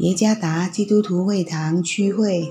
耶加达基督徒会堂区会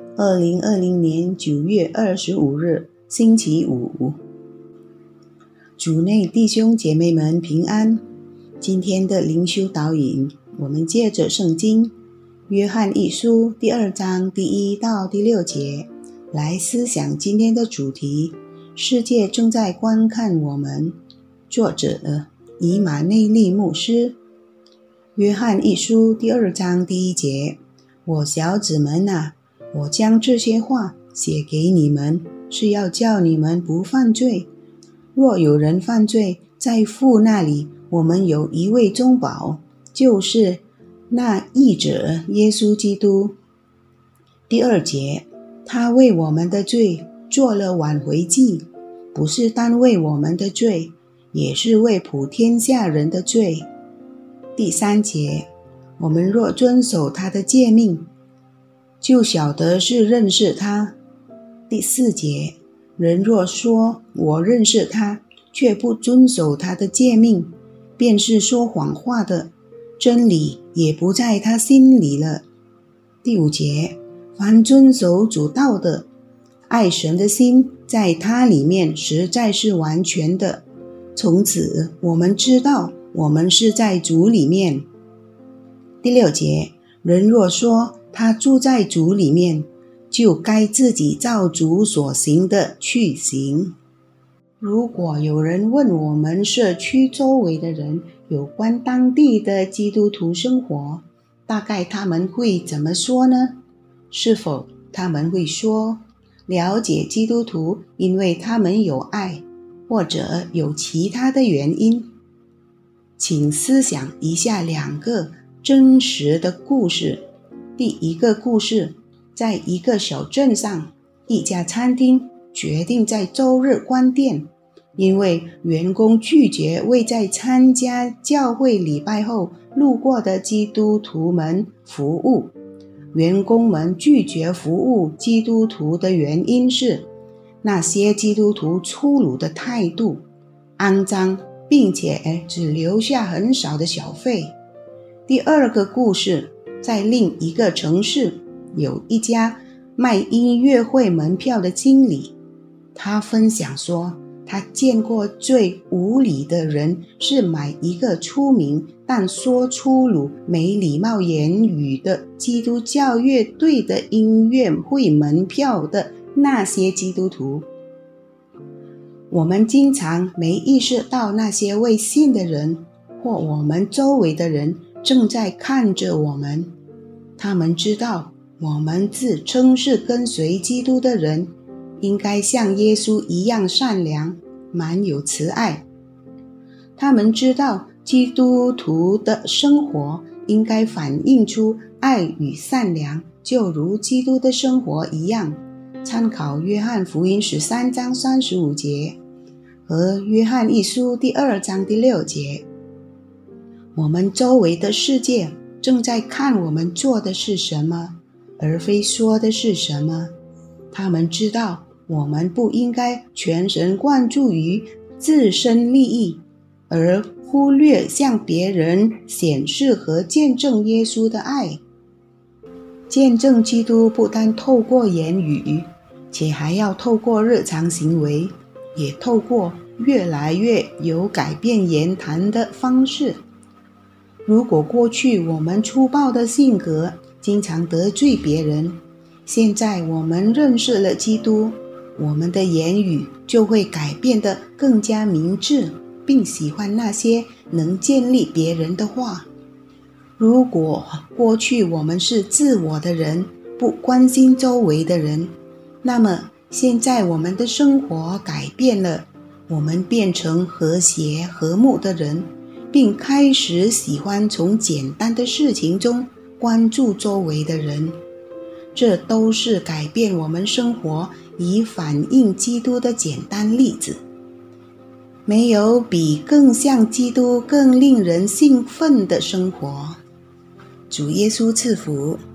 2020年9月25日星期五。主内弟兄姐妹们平安。今天的灵修导引，我们借着圣经约翰一书第2章第1到第6节来思想今天的主题：世界正在观看我们。作者以马内利牧师。约翰一书第2章第1节：我小子们啊，我将这些话写给你们，是要叫你们不犯罪。若有人犯罪，在父那里我们有一位中保，就是那义者耶稣基督。第2节：他为我们的罪做了挽回祭，不是单为我们的罪，也是为普天下人的罪。第3节：我们若遵守他的诫命，就晓得是认识他。第4节：人若说我认识他，却不遵守他的诫命，便是说谎话的，真理也不在他心里了。第5节：凡遵守主道的，爱神的心在他里面实在是完全的。从此我们知道我们是在主里面。第6节：人若说他住在主里面，就该自己照主所行的去行。如果有人问我们社区周围的人有关当地的基督徒生活，大概他们会怎么说呢？是否他们会说，了解基督徒因为他们有爱，或者有其他的原因？请思想一下2个真实的故事。第一个故事，在一个小镇上，一家餐厅决定在周日关店，因为员工拒绝为在参加教会礼拜后路过的基督徒们服务。员工们拒绝服务基督徒的原因是，那些基督徒粗鲁的态度，肮脏，并且只留下很少的小费。第2个故事，在另一个城市，有一家卖音乐会门票的经理，他分享说，他见过最无理的人是买一个出名但说粗鲁没礼貌言语的基督教乐队的音乐会门票的那些基督徒。我们经常没意识到那些未信的人或我们周围的人正在看着我们。他们知道我们自称是跟随基督的人，应该像耶稣一样善良，满有慈爱。他们知道基督徒的生活应该反映出爱与善良，就如基督的生活一样。参考约翰福音13章35节和约翰一书第2章第6节。我们周围的世界正在看我们做的是什么，而非说的是什么。他们知道我们不应该全神贯注于自身利益，而忽略向别人显示和见证耶稣的爱。见证基督不单透过言语，且还要透过日常行为，也透过越来越有改变言谈的方式。如果过去我们粗暴的性格经常得罪别人，现在我们认识了基督，我们的言语就会改变得更加明智，并喜欢那些能建立别人的话。如果过去我们是自我的人，不关心周围的人，那么现在我们的生活改变了，我们变成和谐和睦的人，并开始喜欢从简单的事情中关注周围的人。这都是改变我们生活以反映基督的简单例子。没有比更像基督更令人兴奋的生活。主耶稣赐福。